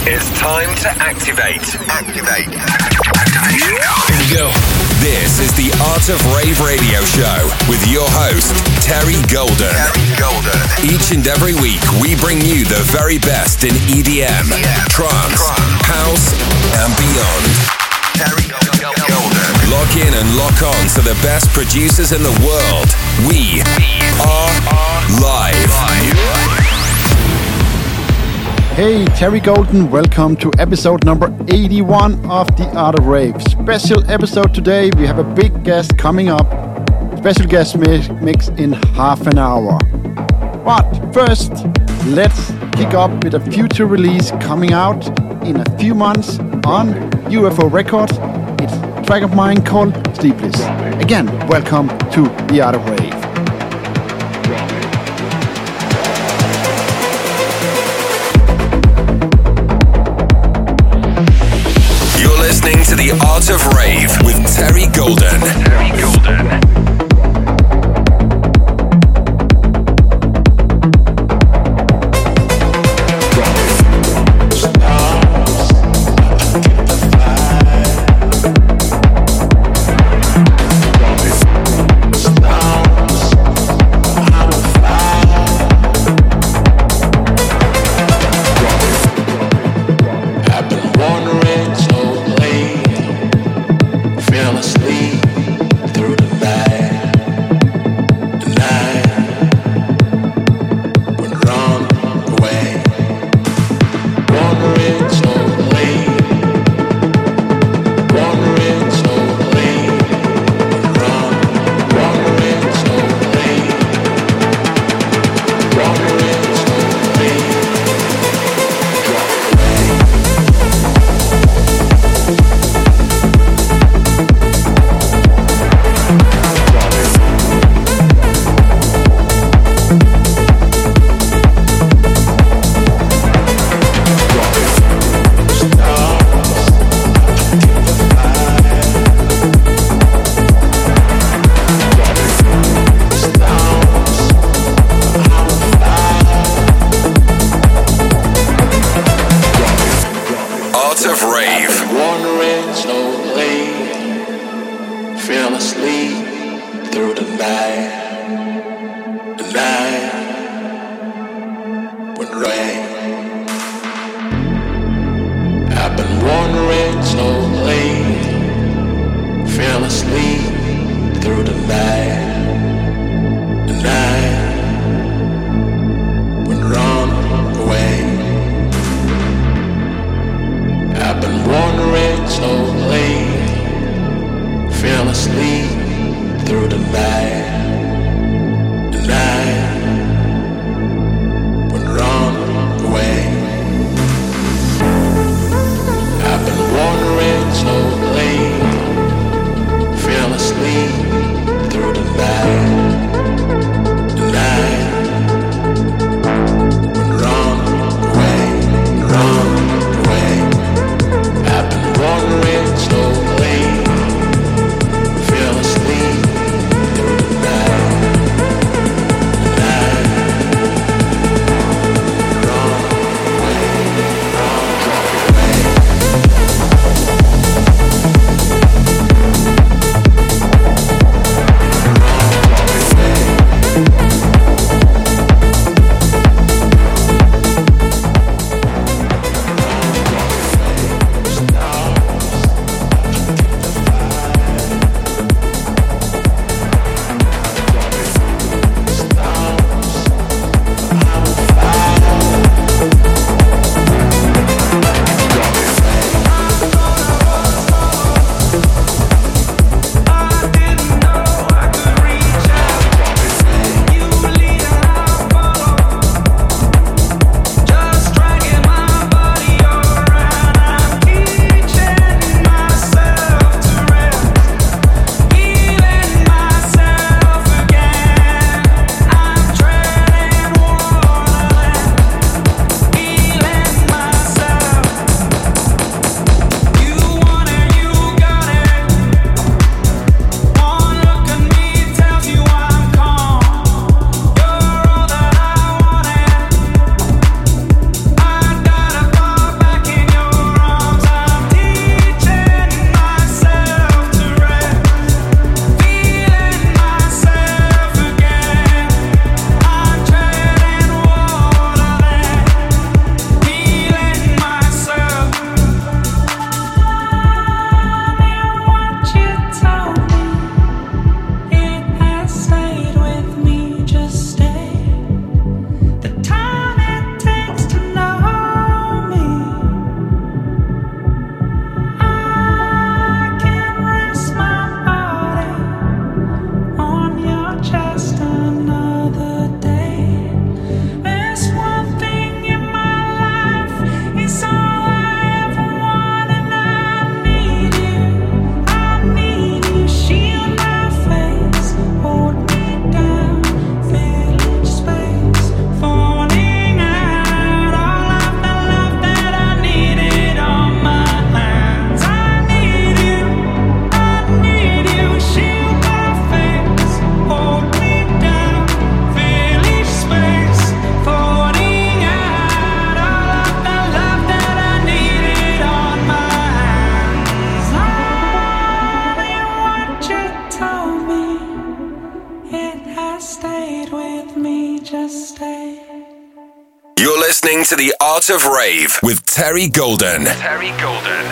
It's time to activate. Activation. Here we go. This is the Art of Rave radio show with your host, Terry Golden. Each and every week, we bring you the very best in EDM, trance, house, and beyond. Terry Golden. Lock in and lock on to the best producers in the world. We are live. Hey, Terry Golden, welcome to episode number 81 of The Art of Rave. Special episode today, we have a big guest coming up. Special guest mix in half an hour. But first, let's kick off with a future release coming out in a few months on UFO Records. It's a track of mine called Sleepless. Again, welcome to The Art of Rave. Listening to The Art of Rave with Terry Golden. Through the night. to the Art of Rave with Terry Golden. Terry Golden.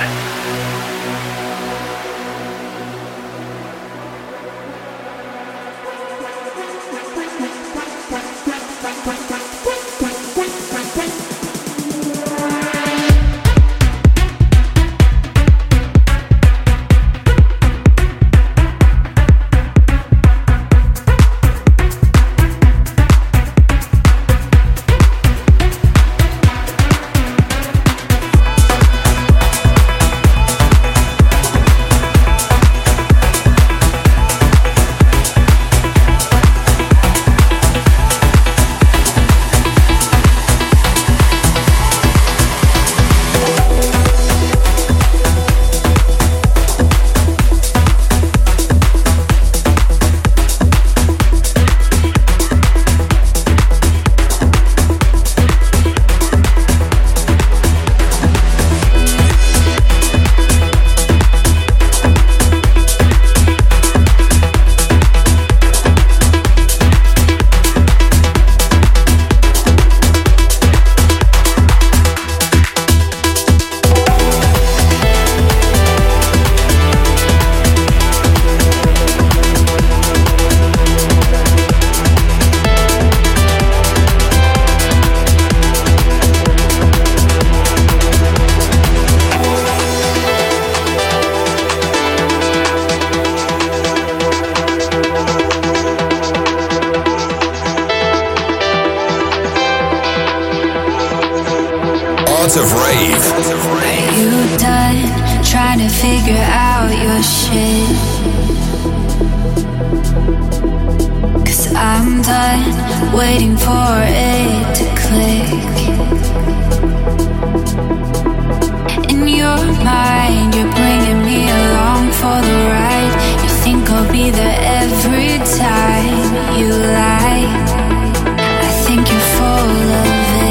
Of Rave. Are you done trying to figure out your shit? 'Cause I'm done waiting for it to click. In your mind, you're bringing me along for the ride. You think I'll be there every time you lie. I think you're full of it.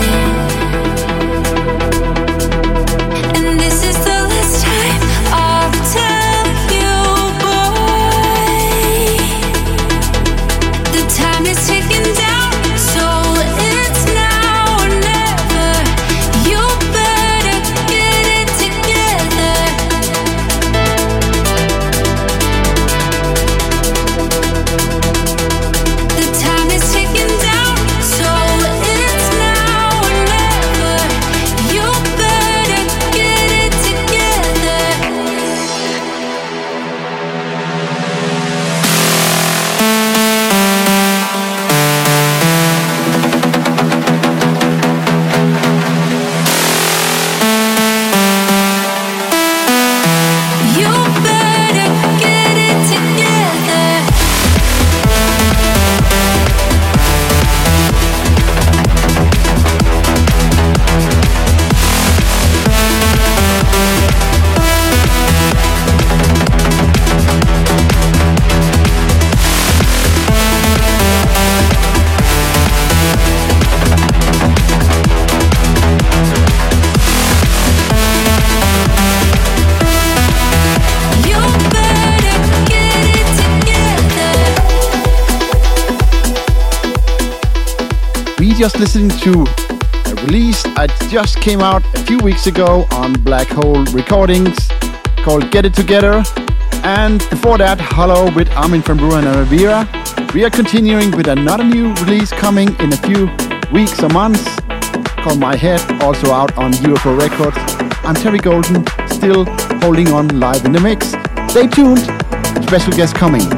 Just listening to a release that just came out a few weeks ago on Black Hole Recordings called Get It Together, and before that Hollow with Armin van Buuren and Rivera. We are continuing with another new release coming in a few weeks or months called My Head, also out on UFO Records. I'm Terry Golden, still holding on live in the mix. Stay tuned, special guest coming.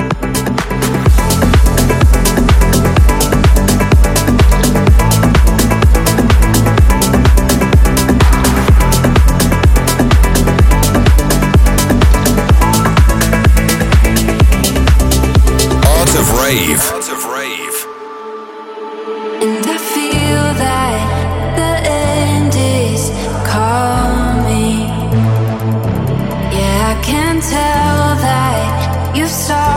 Art of Rave. And I feel that the end is coming. Yeah, I can tell that you've started.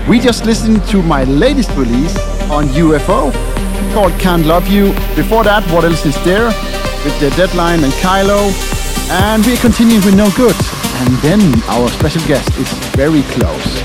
We just listened to my latest release on UFO called Can't Love You. Before that, What Else Is There with the Deadline and Kylo. And we're continuing with No Good. And then our special guest is very close.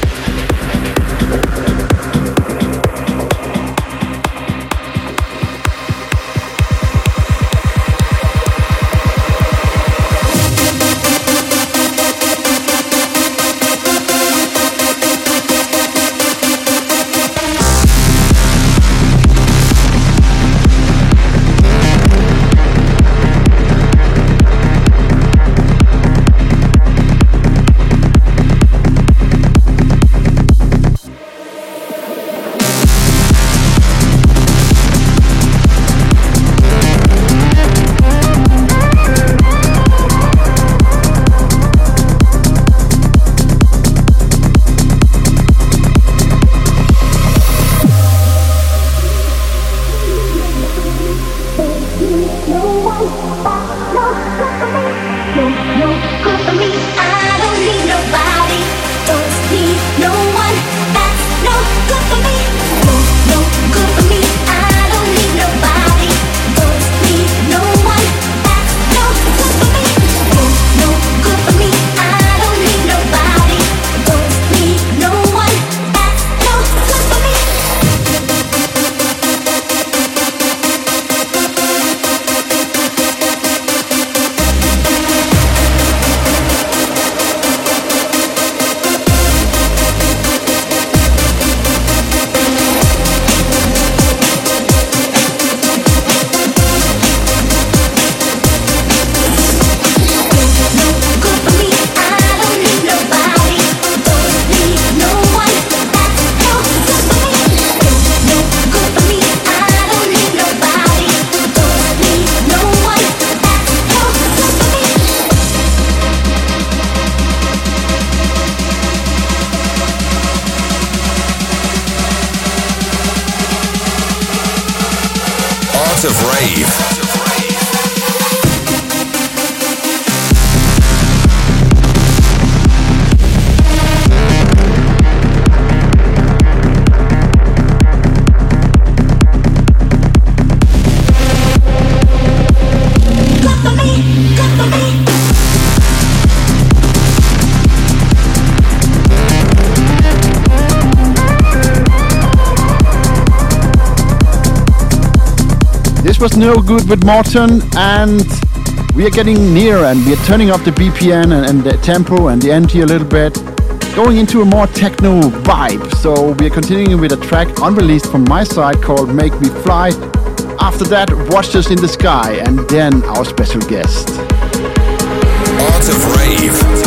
Art of Rave. This was No Good with Morten, and we are getting near, and we are turning up the BPM and the tempo and the energy a little bit, going into a more techno vibe. So we are continuing with a track unreleased from my side called Make Me Fly. After that, Watch Us in the Sky, and then our special guest. Art of Rave.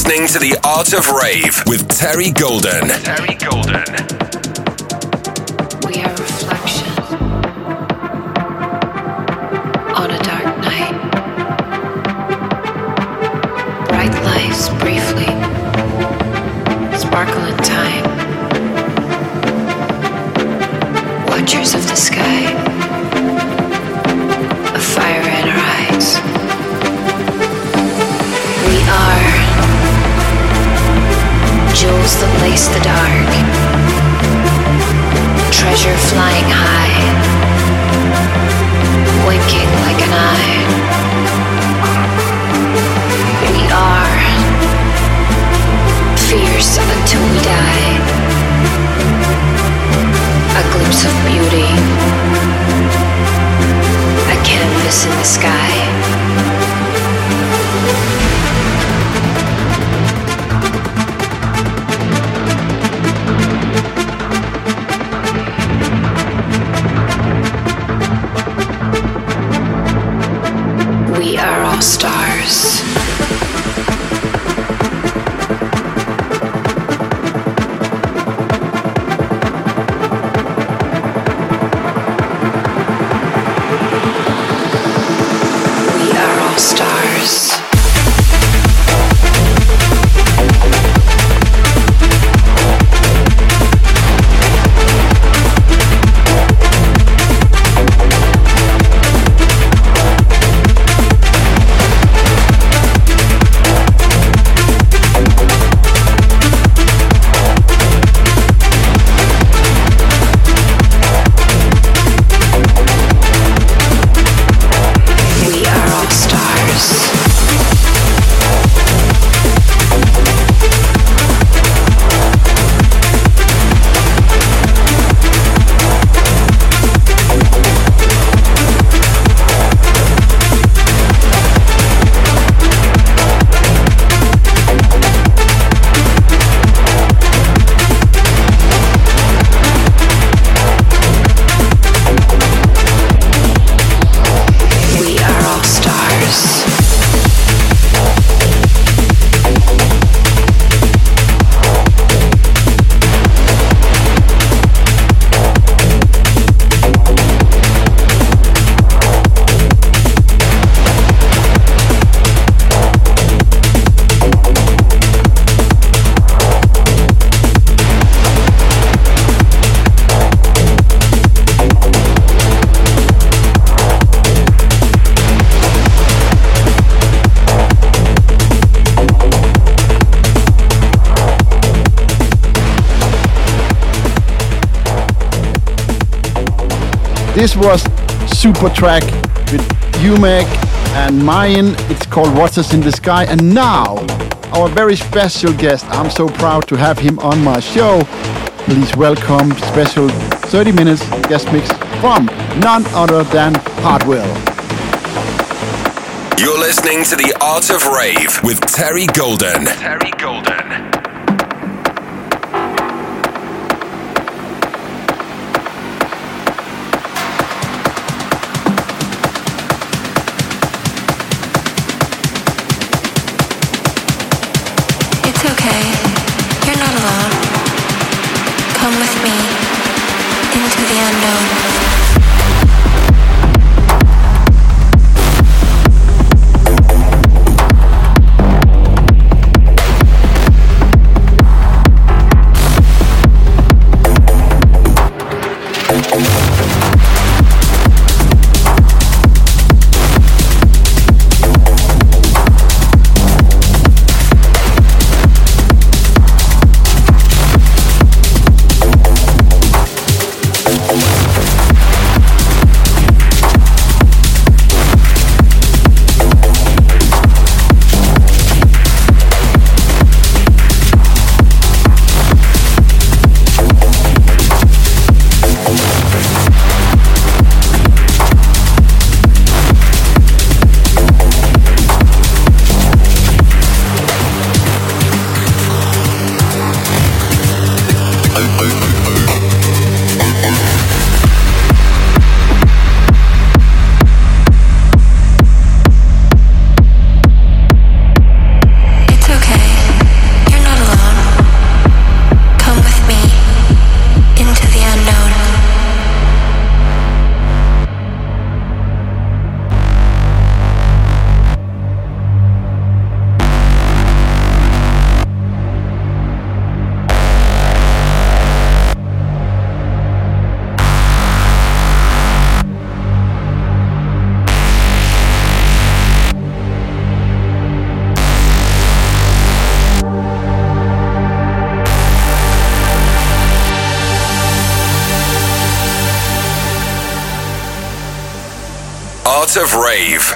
listening to The Art of Rave with Terry Golden. Terry Golden. We are reflection on a dark night. Bright lights briefly sparkle in time. Watchers of the sky, a fire in our eyes. We are jewels that lace the dark, treasure flying high, winking like an eye. We are fierce until we die, a glimpse of beauty, a canvas in the sky. We are all stars. We are all stars. This was Super Track with UMEC and Mayan. It's called Watchers in the Sky. And now, our very special guest. I'm so proud to have him on my show. Please welcome special 30 minutes guest mix from none other than Hardwell. You're listening to The Art of Rave with Terry Golden. Terry Golden. It's okay. Art of Rave.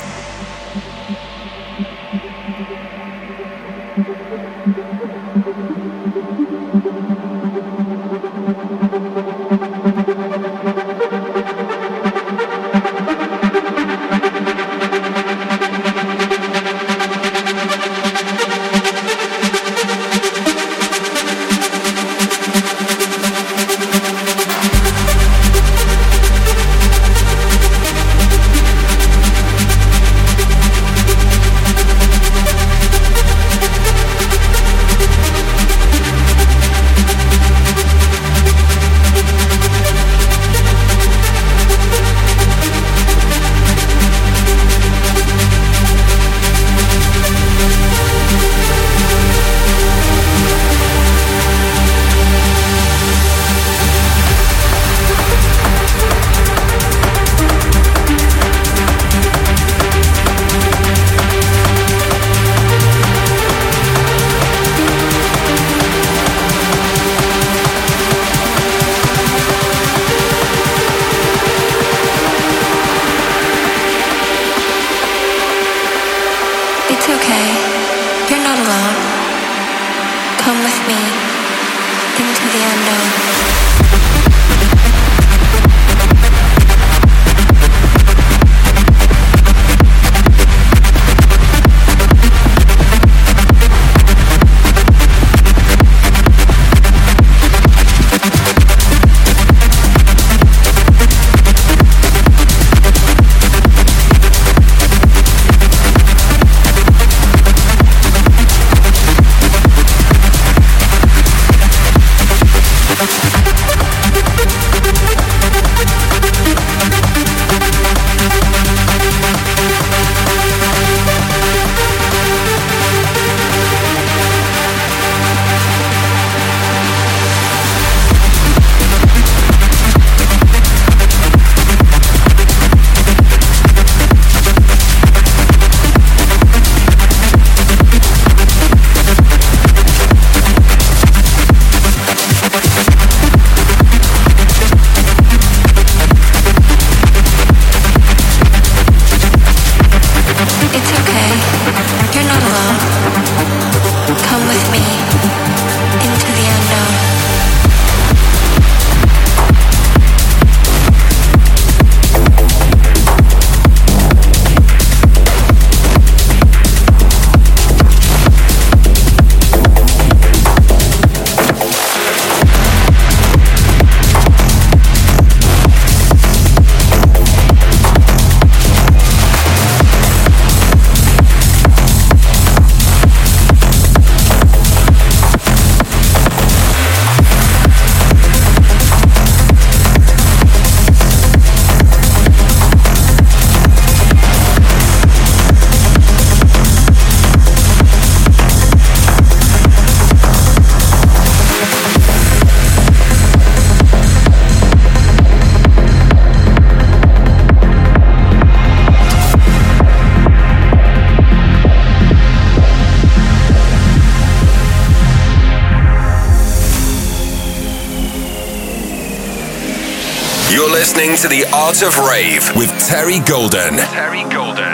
Listening to the Art of Rave with Terry Golden. Terry Golden.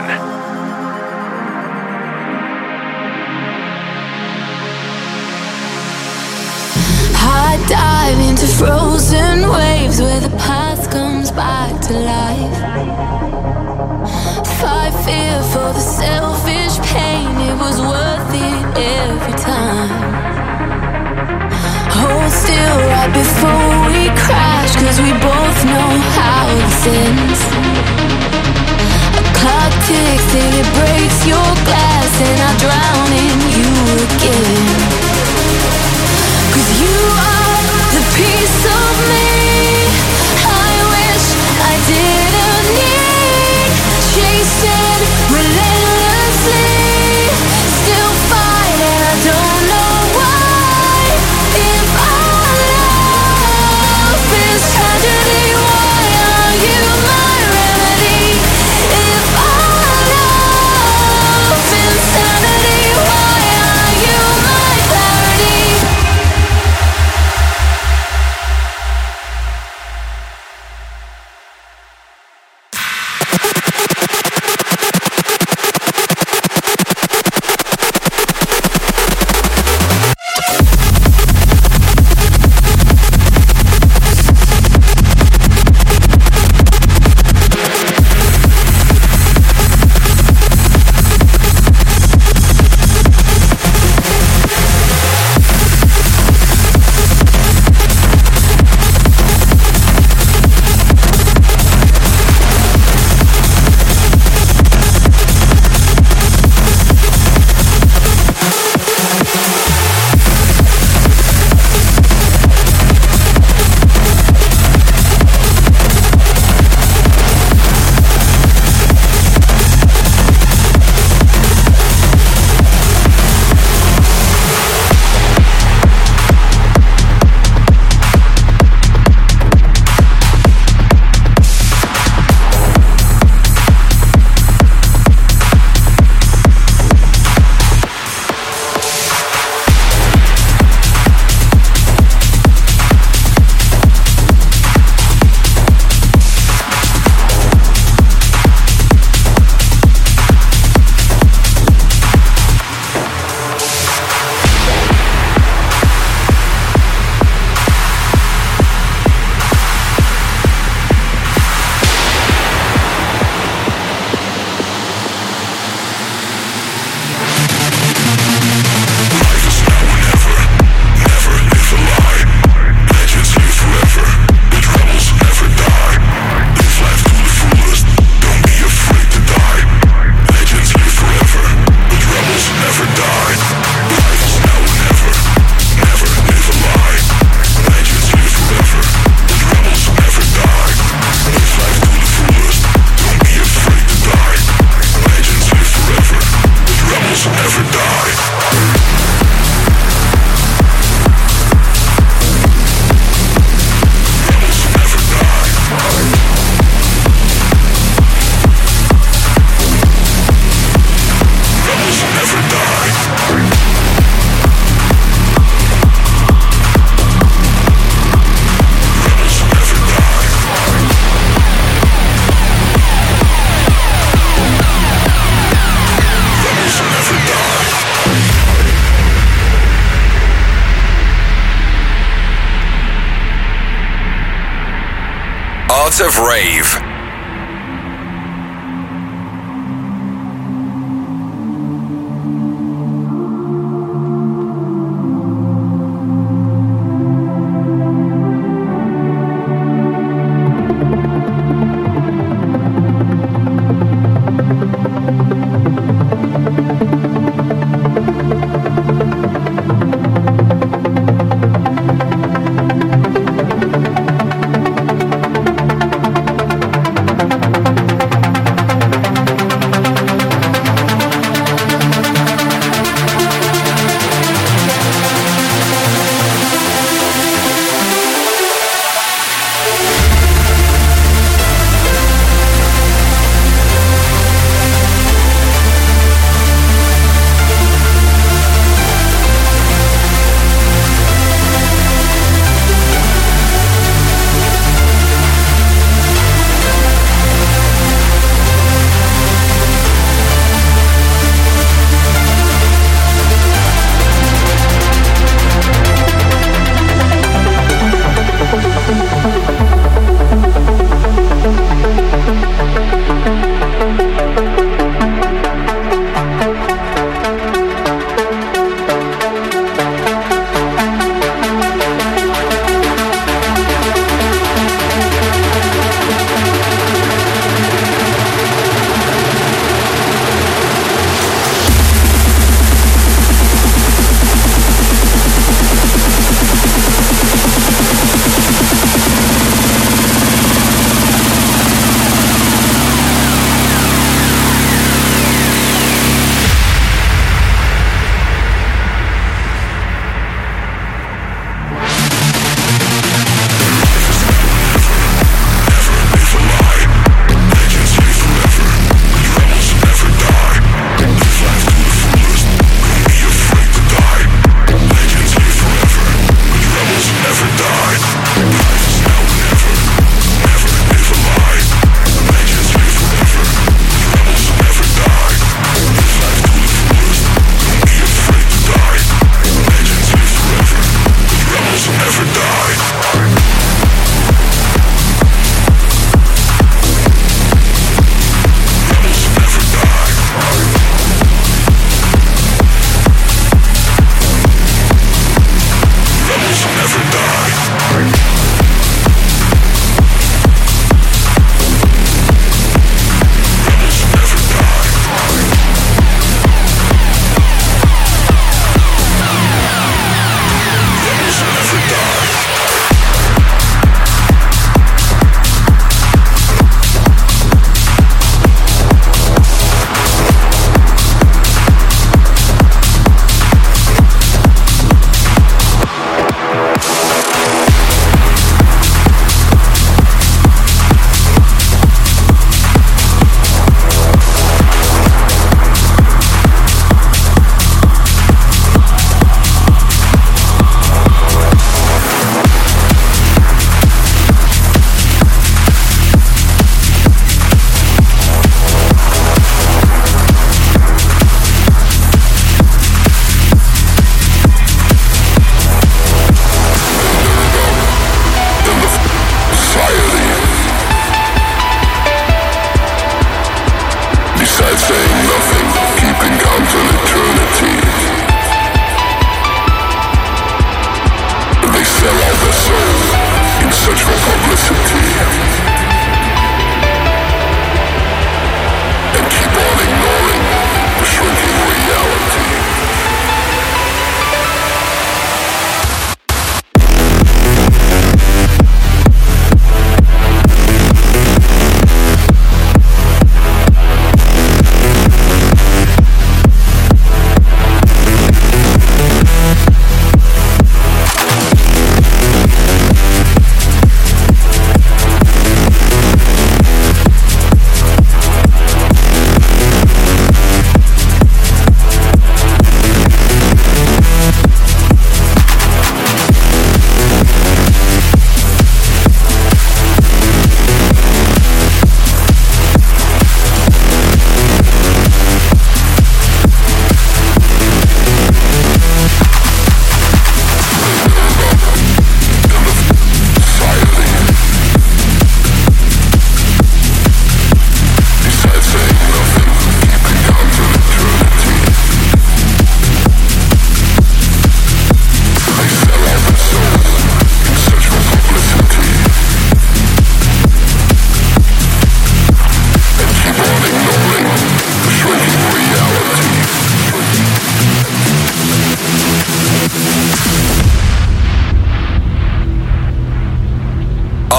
I dive into frozen waves where the past comes back to life. Fight fear for the selfish pain, it was worth it every time. Hold still right before we crash, cause we both know how this ends. A clock ticks till it breaks your glass, and I drown in you again. Cause you are the piece of me I wish I didn't need. Chasing relentlessly, still fight and I don't know why. If our love is tragedy, why are you my remedy? If our love is insanity, why are you Art of Rave.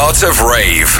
Art of Rave.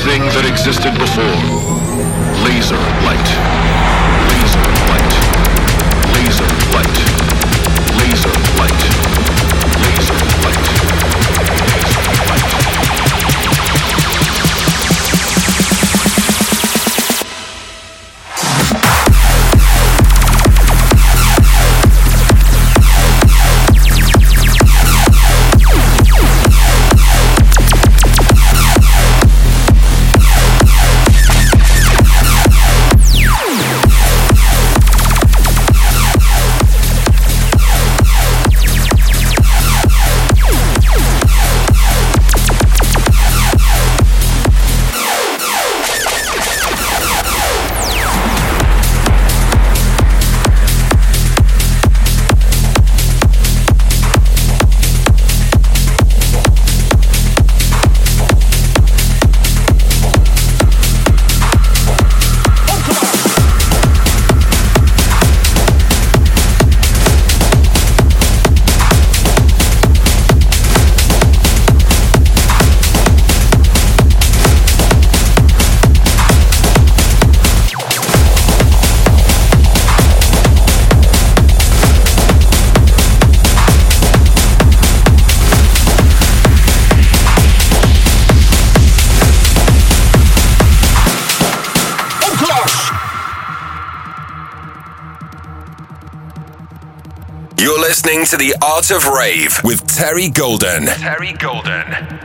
everything that existed before. Laser light. Laser light. Laser light. Laser light. Laser light. Laser light. You're listening to The Art of Rave with Terry Golden. Terry Golden.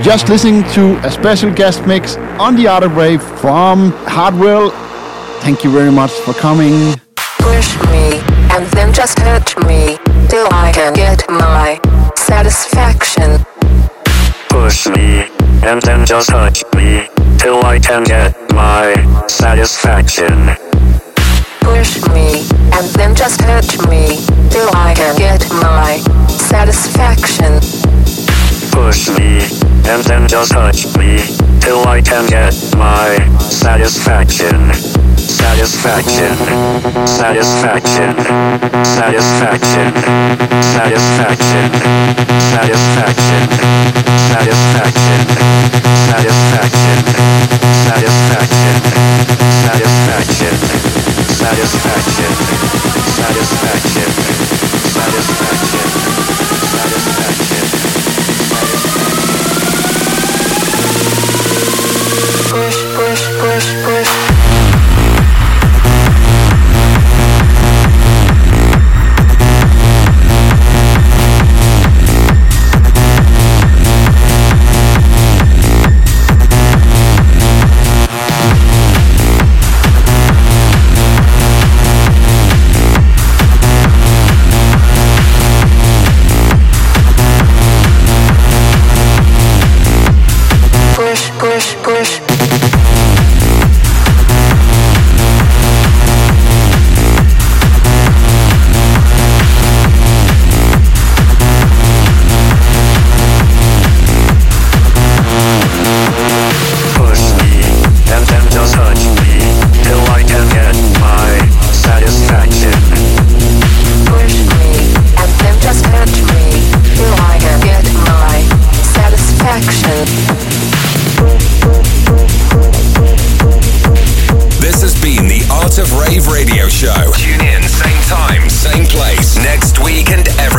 just listening to a special guest mix on the Art of Rave from Hardwell. Thank you very much for coming. Push me and then just touch me till I can get my satisfaction. Push me and then just touch me till I can get my satisfaction. Push me and then just touch me till I can get my satisfaction. Push me and then just touch me till I can get my satisfaction. Satisfaction, satisfaction, satisfaction, satisfaction, satisfaction, satisfaction, satisfaction, satisfaction, satisfaction, satisfaction, satisfaction, satisfaction, satisfaction. Push, push, push, push. Push, push. Art of Rave Radio Show. Tune in, same time, same place, next week and every